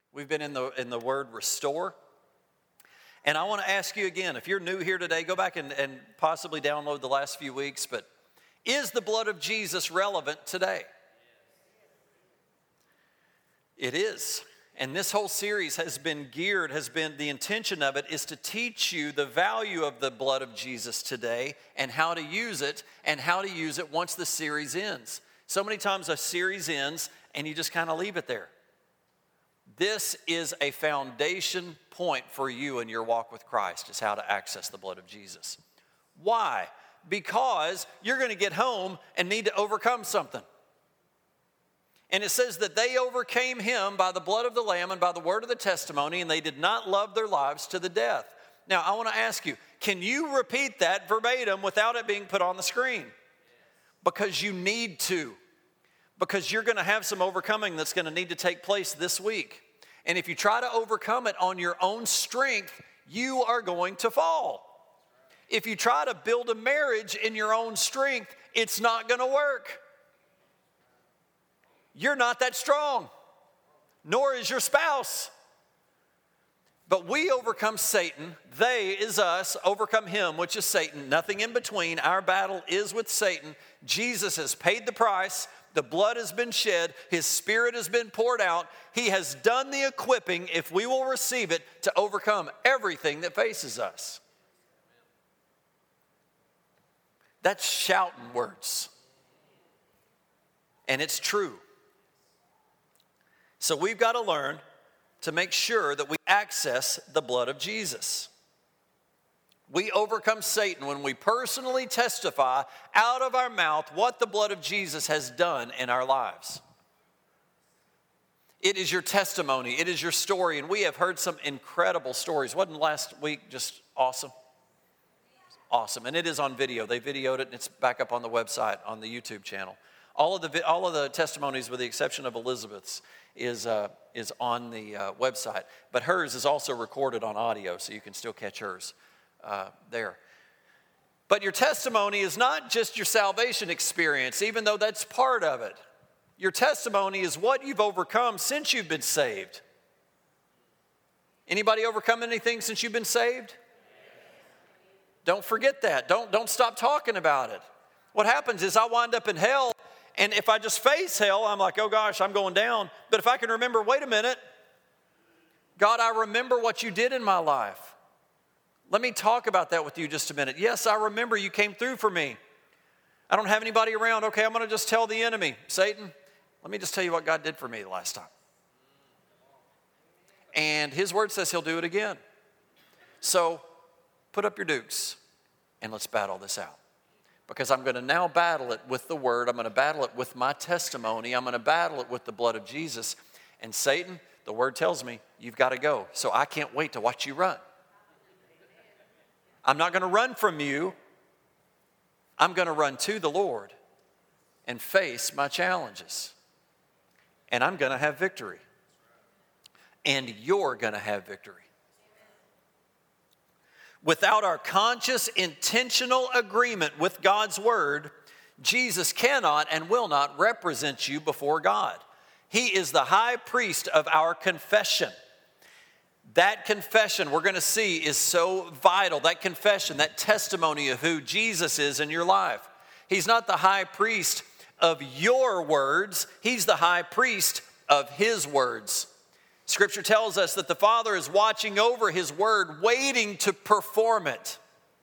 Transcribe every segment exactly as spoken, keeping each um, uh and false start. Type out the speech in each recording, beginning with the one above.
We've been in the in the word restore. And I want to ask you again, if you're new here today, go back and, and possibly download the last few weeks, but is the blood of Jesus relevant today? It is. And this whole series has been geared, has been, the intention of it is to teach you the value of the blood of Jesus today and how to use it and how to use it once the series ends. So many times a series ends and you just kind of leave it there. This is a foundation point for you in your walk with Christ, is how to access the blood of Jesus. Why? Because you're going to get home and need to overcome something. And it says that they overcame him by the blood of the Lamb and by the word of the testimony, and they did not love their lives to the death. Now, I want to ask you, can you repeat that verbatim without it being put on the screen? Because you need to. Because you're going to have some overcoming that's going to need to take place this week. And if you try to overcome it on your own strength, you are going to fall. If you try to build a marriage in your own strength, it's not going to work. You're not that strong, nor is your spouse. But we overcome Satan. They is us, overcome him, which is Satan. Nothing in between. Our battle is with Satan. Jesus has paid the price. The blood has been shed. His Spirit has been poured out. He has done the equipping, if we will receive it, to overcome everything that faces us. That's shouting words. And it's true. So we've got to learn to make sure that we access the blood of Jesus. We overcome Satan when we personally testify out of our mouth what the blood of Jesus has done in our lives. It is your testimony. It is your story. And we have heard some incredible stories. Wasn't last week just awesome? Awesome. And it is on video. They videoed it, and it's back up on the website, on the YouTube channel. All of the all of the testimonies, with the exception of Elizabeth's, is uh, is on the uh, website. But hers is also recorded on audio, so you can still catch hers uh, there. But your testimony is not just your salvation experience, even though that's part of it. Your testimony is what you've overcome since you've been saved. Anybody overcome anything since you've been saved? Don't forget that. Don't, don't stop talking about it. What happens is I wind up in hell, and if I just face hell, I'm like, oh gosh, I'm going down. But if I can remember, wait a minute, God, I remember what you did in my life. Let me talk about that with you just a minute. Yes, I remember you came through for me. I don't have anybody around. Okay, I'm going to just tell the enemy, Satan, let me just tell you what God did for me the last time. And his word says he'll do it again. So put up your dukes and let's battle this out. Because I'm going to now battle it with the word. I'm going to battle it with my testimony. I'm going to battle it with the blood of Jesus. And Satan, the word tells me, you've got to go. So I can't wait to watch you run. I'm not going to run from you. I'm going to run to the Lord and face my challenges. And I'm going to have victory. And you're going to have victory. Without our conscious, intentional agreement with God's word, Jesus cannot and will not represent you before God. He is the high priest of our confession. That confession, we're going to see, is so vital. That confession, that testimony of who Jesus is in your life. He's not the high priest of your words. He's the high priest of his words. Scripture tells us that the Father is watching over his word, waiting to perform it.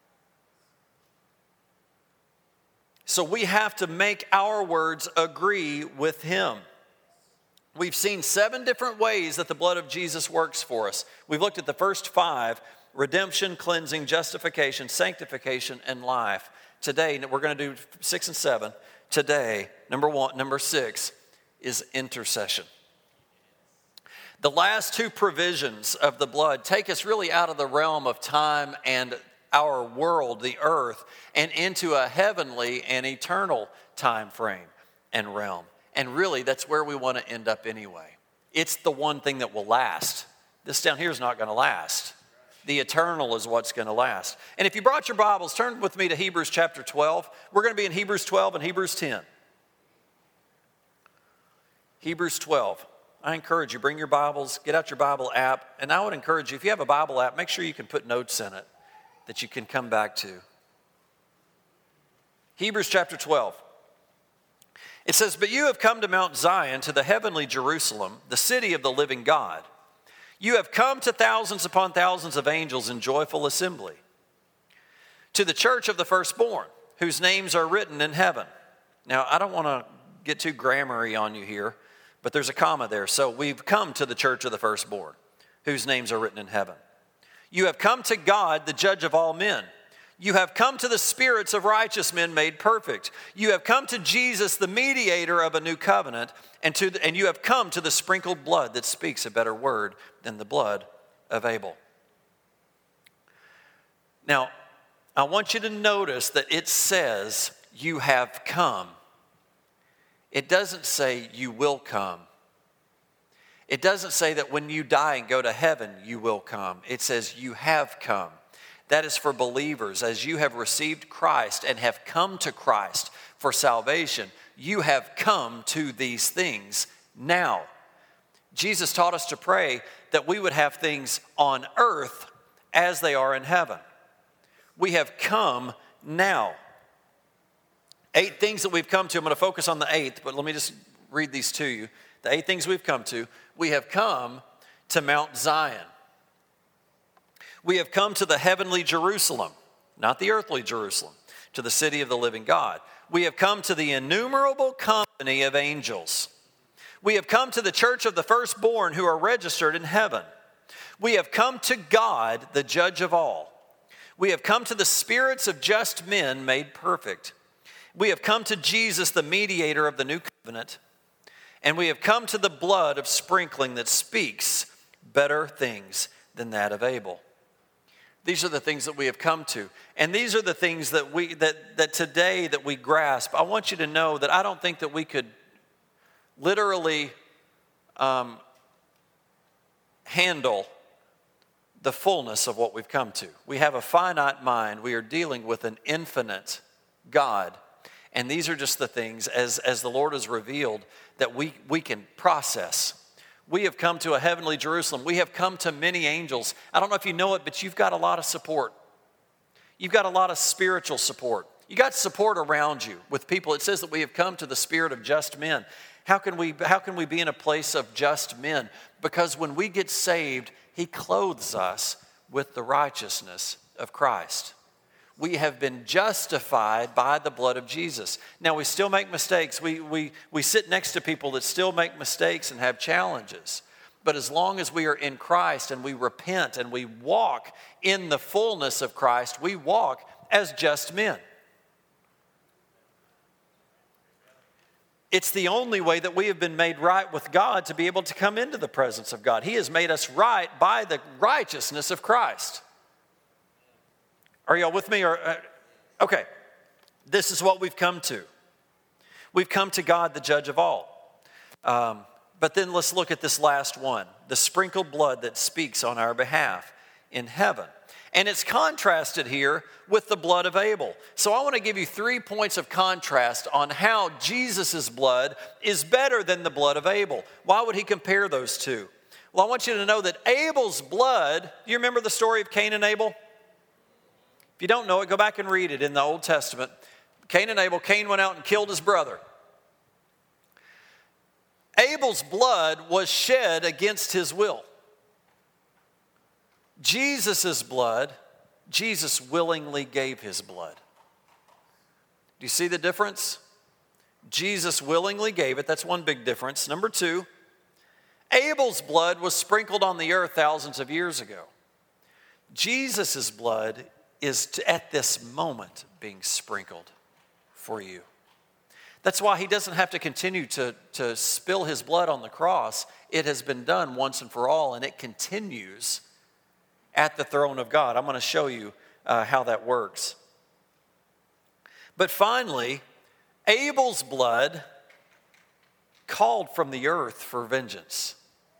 So we have to make our words agree with him. We've seen seven different ways that the blood of Jesus works for us. We've looked at the first five: redemption, cleansing, justification, sanctification, and life. Today, we're going to do six and seven. Today, number one, number six is intercession. The last two provisions of the blood take us really out of the realm of time and our world, the earth, and into a heavenly and eternal time frame and realm. And really, that's where we want to end up anyway. It's the one thing that will last. This down here is not going to last. The eternal is what's going to last. And if you brought your Bibles, turn with me to Hebrews chapter twelve. We're going to be in Hebrews twelve and Hebrews ten. Hebrews twelve. I encourage you, bring your Bibles, get out your Bible app, and I would encourage you, if you have a Bible app, make sure you can put notes in it that you can come back to. Hebrews chapter twelve. It says, "But you have come to Mount Zion, to the heavenly Jerusalem, the city of the living God. You have come to thousands upon thousands of angels in joyful assembly, to the church of the firstborn, whose names are written in heaven." Now, I don't want to get too grammar-y on you here, but there's a comma there. So we've come to the church of the firstborn, whose names are written in heaven. "You have come to God, the judge of all men. You have come to the spirits of righteous men made perfect. You have come to Jesus, the mediator of a new covenant, and, to the, and you have come to the sprinkled blood that speaks a better word than the blood of Abel." Now, I want you to notice that it says, "You have come." It doesn't say, "You will come." It doesn't say that when you die and go to heaven, you will come. It says, "You have come." That is for believers. As you have received Christ and have come to Christ for salvation, you have come to these things now. Jesus taught us to pray that we would have things on earth as they are in heaven. We have come now. Eight things that we've come to. I'm going to focus on the eighth, but let me just read these to you. The eight things we've come to. We have come to Mount Zion. We have come to the heavenly Jerusalem, not the earthly Jerusalem, to the city of the living God. We have come to the innumerable company of angels. We have come to the church of the firstborn who are registered in heaven. We have come to God, the judge of all. We have come to the spirits of just men made perfect. We have come to Jesus, the mediator of the new covenant. And we have come to the blood of sprinkling that speaks better things than that of Abel. These are the things that we have come to. And these are the things that we that, that today that we grasp. I want you to know that I don't think that we could literally um, handle the fullness of what we've come to. We have a finite mind. We are dealing with an infinite God. And these are just the things, as, as the Lord has revealed, that we, we can process. We have come to a heavenly Jerusalem. We have come to many angels. I don't know if you know it, but you've got a lot of support. You've got a lot of spiritual support. You got support around you with people. It says that we have come to the spirit of just men. How can we, how can we be in a place of just men? Because when we get saved, He clothes us with the righteousness of Christ. We have been justified by the blood of Jesus. Now, we still make mistakes. We, we, we sit next to people that still make mistakes and have challenges. But as long as we are in Christ and we repent and we walk in the fullness of Christ, we walk as just men. It's the only way that we have been made right with God to be able to come into the presence of God. He has made us right by the righteousness of Christ. Are y'all with me? Or, uh, okay, this is what we've come to. We've come to God, the judge of all. Um, but then let's look at this last one, the sprinkled blood that speaks on our behalf in heaven. And it's contrasted here with the blood of Abel. So I want to give you three points of contrast on how Jesus' blood is better than the blood of Abel. Why would He compare those two? Well, I want you to know that Abel's blood, you remember the story of Cain and Abel? If you don't know it, go back and read it in the Old Testament. Cain and Abel, Cain went out and killed his brother. Abel's blood was shed against his will. Jesus' blood, Jesus willingly gave His blood. Do you see the difference? Jesus willingly gave it. That's one big difference. Number two, Abel's blood was sprinkled on the earth thousands of years ago. Jesus' blood is to, at this moment being sprinkled for you. That's why He doesn't have to continue to, to spill His blood on the cross. It has been done once and for all, and it continues at the throne of God. I'm going to show you uh, how that works. But finally, Abel's blood called from the earth for vengeance.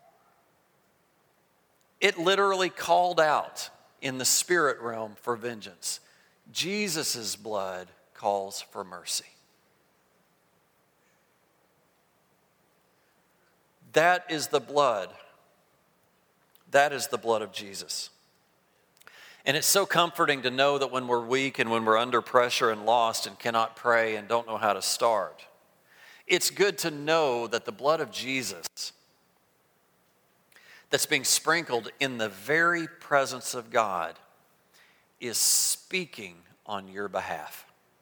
It literally called out in the spirit realm for vengeance. Jesus' blood calls for mercy. That is the blood. That is the blood of Jesus. And it's so comforting to know that when we're weak and when we're under pressure and lost and cannot pray and don't know how to start, it's good to know that the blood of Jesus that's being sprinkled in the very presence of God is speaking on your behalf.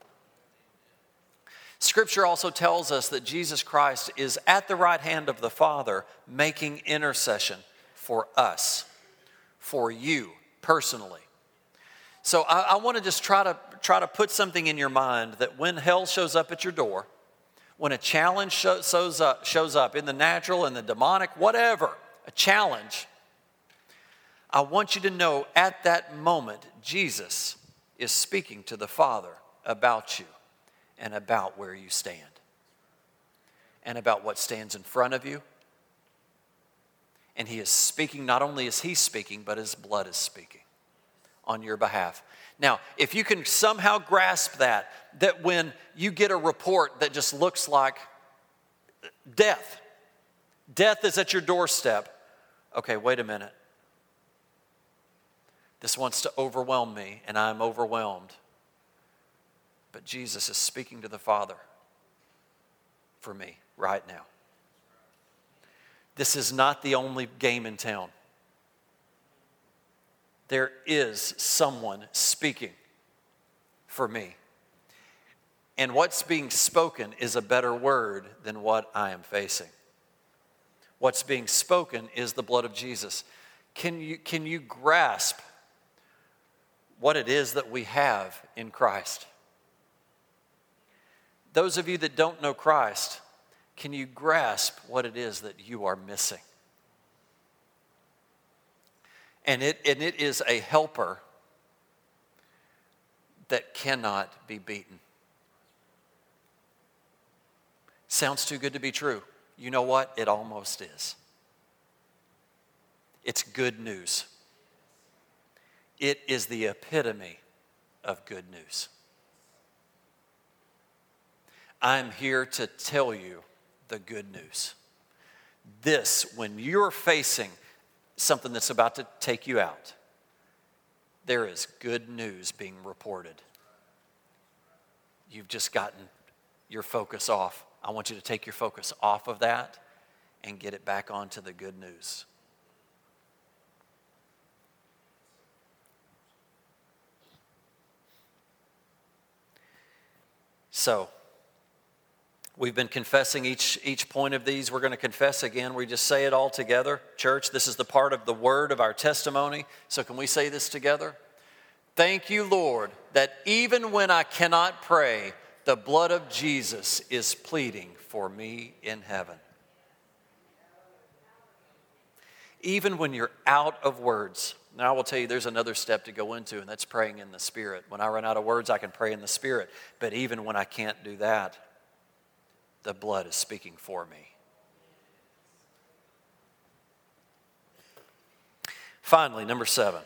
Scripture also tells us that Jesus Christ is at the right hand of the Father making intercession for us, for you personally. So I, I want to just try to try to put something in your mind that when hell shows up at your door, when a challenge show, shows up, shows up in the natural, in the demonic, whatever, a challenge, I want you to know at that moment, Jesus is speaking to the Father about you and about where you stand and about what stands in front of you. And he is speaking, not only is he speaking, but his blood is speaking on your behalf. Now, if you can somehow grasp that, that when you get a report that just looks like death, death is at your doorstep, okay, wait a minute. This wants to overwhelm me, and I'm overwhelmed. But Jesus is speaking to the Father for me right now. This is not the only game in town. There is someone speaking for me. And what's being spoken is a better word than what I am facing. What's being spoken is the blood of Jesus. Can you, can you grasp what it is that we have in Christ? Those of you that don't know Christ, can you grasp what it is that you are missing? And it, and it is a helper that cannot be beaten. Sounds too good to be true. You know what? It almost is. It's good news. It is the epitome of good news. I'm here to tell you the good news. This, when you're facing something that's about to take you out, there is good news being reported. You've just gotten your focus off. I want you to take your focus off of that and get it back onto the good news. So, we've been confessing each, each point of these. We're going to confess again. We just say it all together. Church, this is the part of the word of our testimony. So can we say this together? Thank you, Lord, that even when I cannot pray, the blood of Jesus is pleading for me in heaven. Even when you're out of words. Now, I will tell you, there's another step to go into, and that's praying in the Spirit. When I run out of words, I can pray in the Spirit. But even when I can't do that, the blood is speaking for me. Finally, number seven.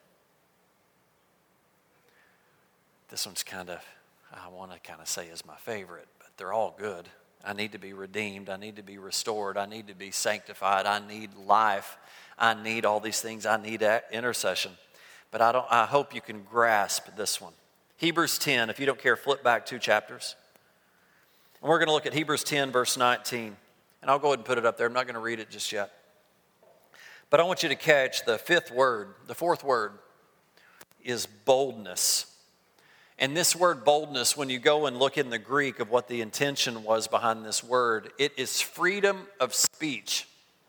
This one's kind of, I want to kind of say is my favorite, but they're all good. I need to be redeemed. I need to be restored. I need to be sanctified. I need life. I need all these things. I need intercession. But I don't. I hope you can grasp this one. Hebrews ten, if you don't care, flip back two chapters. And we're going to look at Hebrews ten, verse nineteen. And I'll go ahead and put it up there. I'm not going to read it just yet. But I want you to catch the fifth word. The fourth word is boldness. And this word boldness, when you go and look in the Greek of what the intention was behind this word, it is freedom of speech.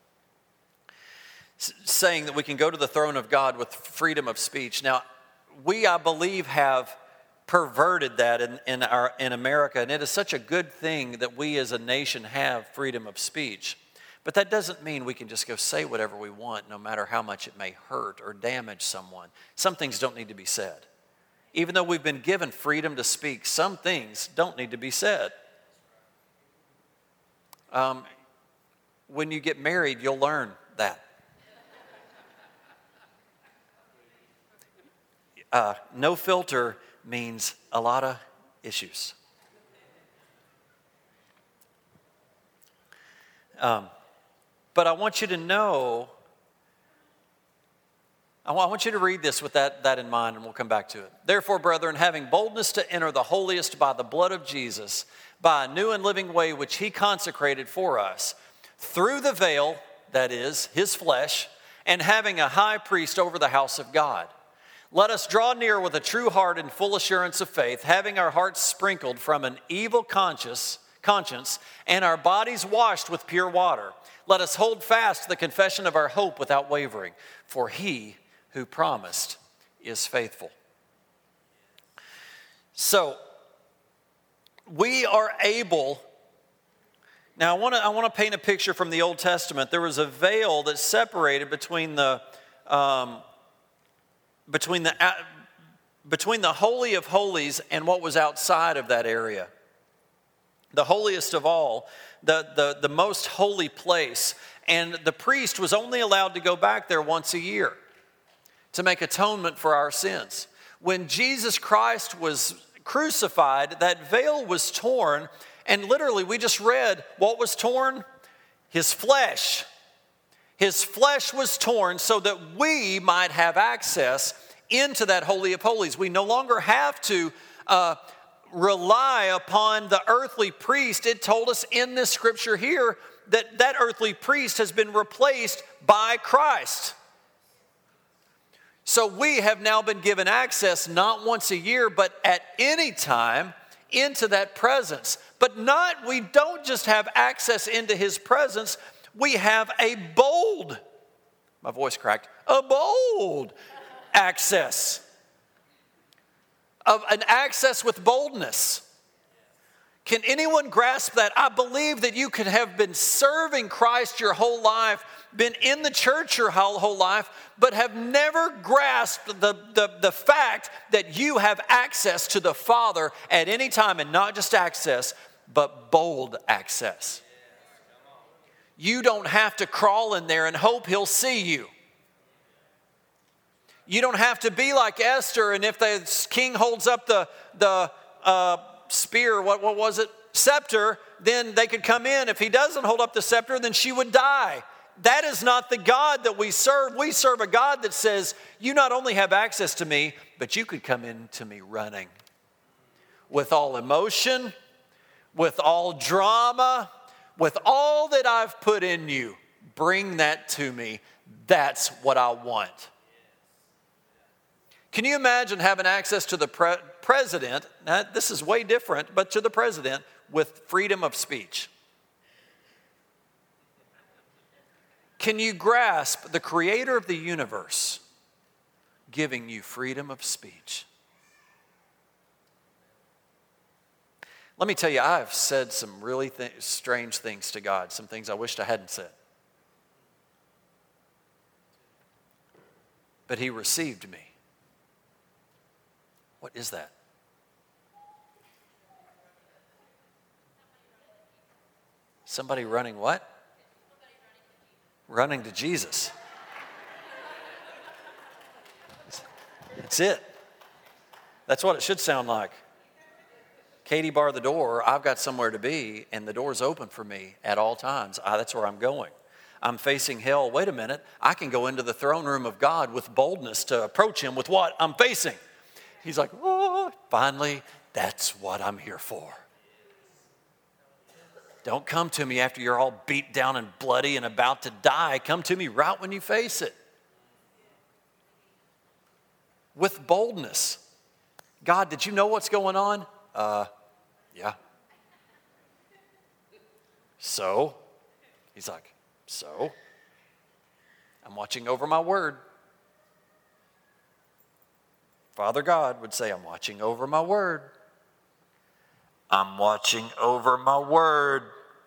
S- saying that we can go to the throne of God with freedom of speech. Now, we, I believe, have perverted that in, in, our, in America, and it is such a good thing that we as a nation have freedom of speech. But that doesn't mean we can just go say whatever we want, no matter how much it may hurt or damage someone. Some things don't need to be said. Even though we've been given freedom to speak, some things don't need to be said. Um, when you get married, you'll learn that. Uh, no filter means a lot of issues. Um, But I want you to know, I want you to read this with that, that in mind, and we'll come back to it. Therefore, brethren, having boldness to enter the holiest by the blood of Jesus, by a new and living way which he consecrated for us, through the veil, that is, his flesh, and having a high priest over the house of God. Let us draw near with a true heart and full assurance of faith, having our hearts sprinkled from an evil conscience, conscience and our bodies washed with pure water. Let us hold fast the confession of our hope without wavering, for he who promised is faithful. So, we are able, now I want to I want to paint a picture from the Old Testament. There was a veil that separated between the um, between the uh, between the Holy of Holies and what was outside of that area. The holiest of all, the, the, the most holy place. And the priest was only allowed to go back there once a year to make atonement for our sins. When Jesus Christ was crucified, that veil was torn, and literally we just read what was torn? His flesh. His flesh was torn so that we might have access into that Holy of Holies. We no longer have to uh, rely upon the earthly priest. It told us in this scripture here that that earthly priest has been replaced by Christ. So we have now been given access not once a year, but at any time into that presence. But not, we don't just have access into his presence, we have a bold, my voice cracked, a bold access. Of an access with boldness. Can anyone grasp that? I believe that you could have been serving Christ your whole life, been in the church your whole, whole life, but have never grasped the, the, the fact that you have access to the Father at any time, and not just access, but bold access. You don't have to crawl in there and hope he'll see you. You don't have to be like Esther, and if the king holds up the, the uh, spear, what, what was it? Scepter, then they could come in. If he doesn't hold up the scepter, then she would die. That is not the God that we serve. We serve a God that says, you not only have access to me, but you could come into me running. With all emotion, with all drama, with all that I've put in you, bring that to me. That's what I want. Can you imagine having access to the pre- president? Now, this is way different, but to the president with freedom of speech. Can you grasp the creator of the universe giving you freedom of speech? Let me tell you, I've said some really th- strange things to God, some things I wished I hadn't said. But he received me. What is that? Somebody running what? Running to Jesus. That's it. That's what it should sound like. Katie, bar the door. I've got somewhere to be, and the door's open for me at all times. I, that's where I'm going. I'm facing hell. Wait a minute. I can go into the throne room of God with boldness to approach him with what I'm facing. He's like, oh, finally, that's what I'm here for. Don't come to me after you're all beat down and bloody and about to die. Come to me right when you face it. With boldness. God, did you know what's going on? Uh, yeah. So? He's like, so? I'm watching over my word. Father God would say, I'm watching over my word. I'm watching over my word.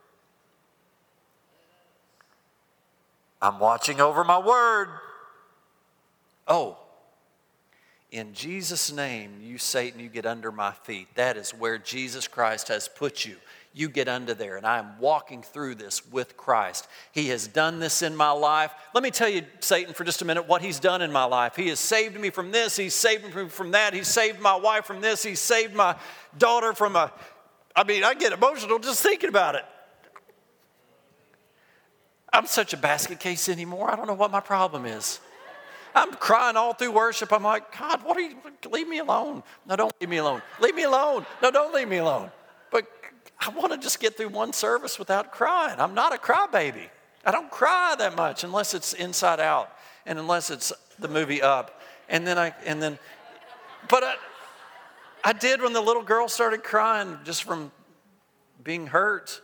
I'm watching over my word. Oh, in Jesus' name, you Satan, you get under my feet. That is where Jesus Christ has put you. You get under there, and I am walking through this with Christ. He has done this in my life. Let me tell you, Satan, for just a minute, what he's done in my life. He has saved me from this. He's saved me from that. He's saved my wife from this. He's saved my daughter from a, I mean, I get emotional just thinking about it. I'm such a basket case anymore. I don't know what my problem is. I'm crying all through worship. I'm like, God, what are you, leave me alone. No, don't leave me alone. Leave me alone. No, don't leave me alone. But I want to just get through one service without crying. I'm not a crybaby. I don't cry that much unless it's Inside Out and unless it's the movie Up. And then I, and then, but I, I did when the little girl started crying just from being hurt.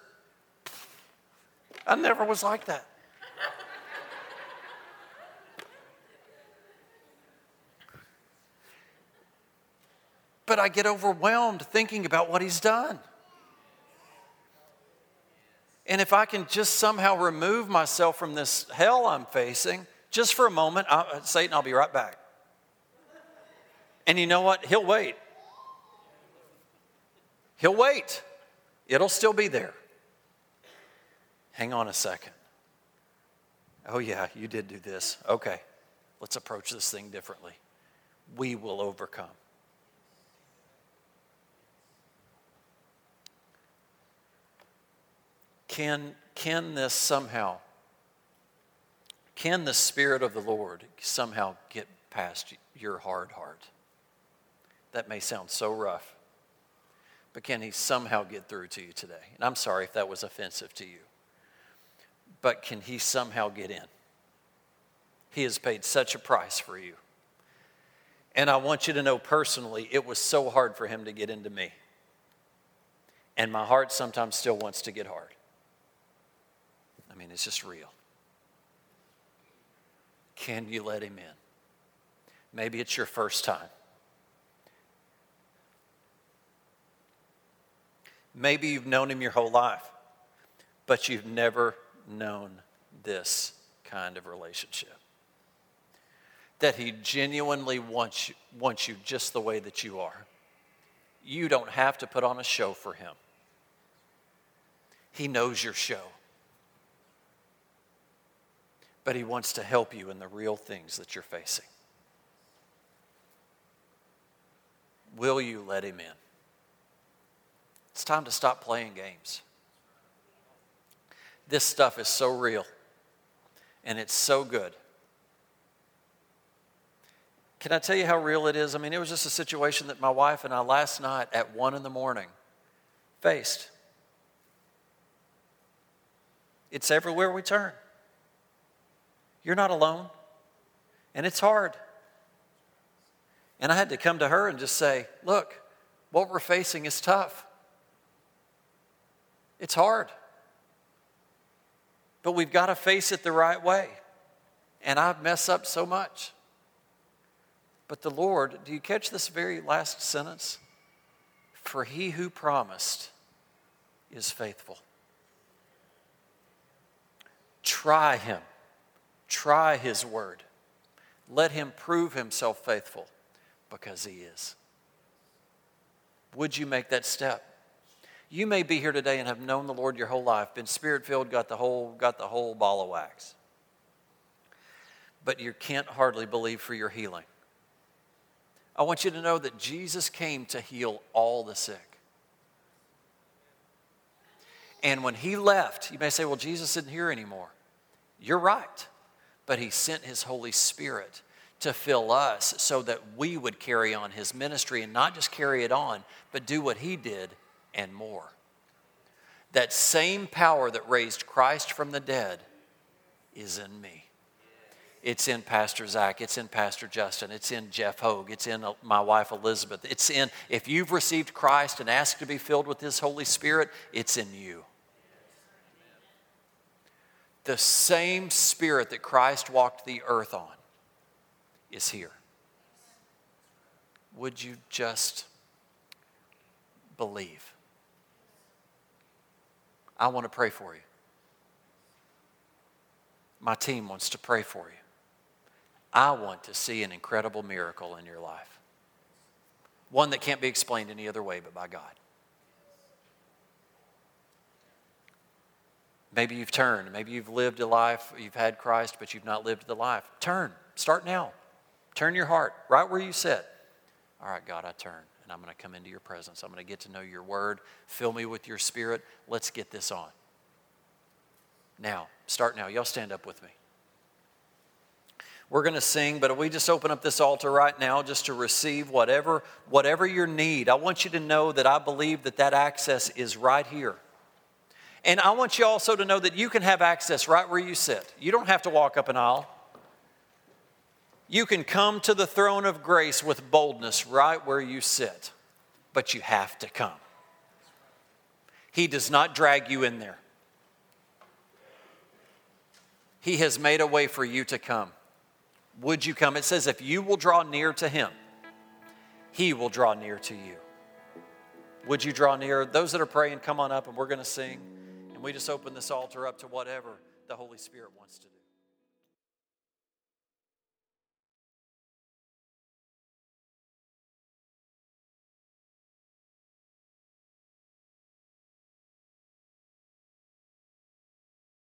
I never was like that. But I get overwhelmed thinking about what he's done. And if I can just somehow remove myself from this hell I'm facing, just for a moment, I, Satan, I'll be right back. And you know what? He'll wait. He'll wait. It'll still be there. Hang on a second. Oh yeah, you did do this. Okay, let's approach this thing differently. We will overcome. Can, can this somehow, can the Spirit of the Lord somehow get past your hard heart? That may sound so rough, but can he somehow get through to you today? And I'm sorry if that was offensive to you, but can he somehow get in? He has paid such a price for you. And I want you to know personally, it was so hard for him to get into me. And my heart sometimes still wants to get hard. I mean, it's just real. Can you let him in? Maybe it's your first time. Maybe you've known him your whole life, but you've never known this kind of relationship. That he genuinely wants you, wants you just the way that you are. You don't have to put on a show for him. He knows your show. But he wants to help you in the real things that you're facing. Will you let him in? It's time to stop playing games. This stuff is so real, and it's so good. Can I tell you how real it is? I mean, it was just a situation that my wife and I last night at one in the morning faced. It's everywhere we turn. You're not alone, and it's hard. And I had to come to her and just say, look, what we're facing is tough. It's hard. But we've got to face it the right way. And I mess up so much. But the Lord, do you catch this very last sentence? For he who promised is faithful. Try him. Try his word. Let him prove himself faithful because he is. Would you make that step? You may be here today and have known the Lord your whole life, been Spirit-filled, got the whole, got the whole ball of wax. But you can't hardly believe for your healing. I want you to know that Jesus came to heal all the sick. And when he left, you may say, well, Jesus isn't here anymore. You're right. But he sent his Holy Spirit to fill us so that we would carry on his ministry and not just carry it on, but do what he did and more. That same power that raised Christ from the dead is in me. It's in Pastor Zach. It's in Pastor Justin. It's in Jeff Hogue. It's in my wife Elizabeth. It's in, if you've received Christ and asked to be filled with his Holy Spirit, it's in you. The same Spirit that Christ walked the earth on is here. Would you just believe? I want to pray for you. My team wants to pray for you. I want to see an incredible miracle in your life. One that can't be explained any other way but by God. Maybe you've turned. Maybe you've lived a life, you've had Christ, but you've not lived the life. Turn. Start now. Turn your heart right where you sit. All right, God, I turn, and I'm going to come into your presence. I'm going to get to know your word. Fill me with your Spirit. Let's get this on. now. Start now. Y'all stand up with me. We're going to sing, but we just open up this altar right now just to receive whatever, whatever your need. I want you to know that I believe that that access is right here. And I want you also to know that you can have access right where you sit. You don't have to walk up an aisle. You can come to the throne of grace with boldness right where you sit, but you have to come. He does not drag you in there. He has made a way for you to come. Would you come? It says if you will draw near to him, he will draw near to you. Would you draw near? Those that are praying, come on up and we're going to sing. And we just open this altar up to whatever the Holy Spirit wants to do.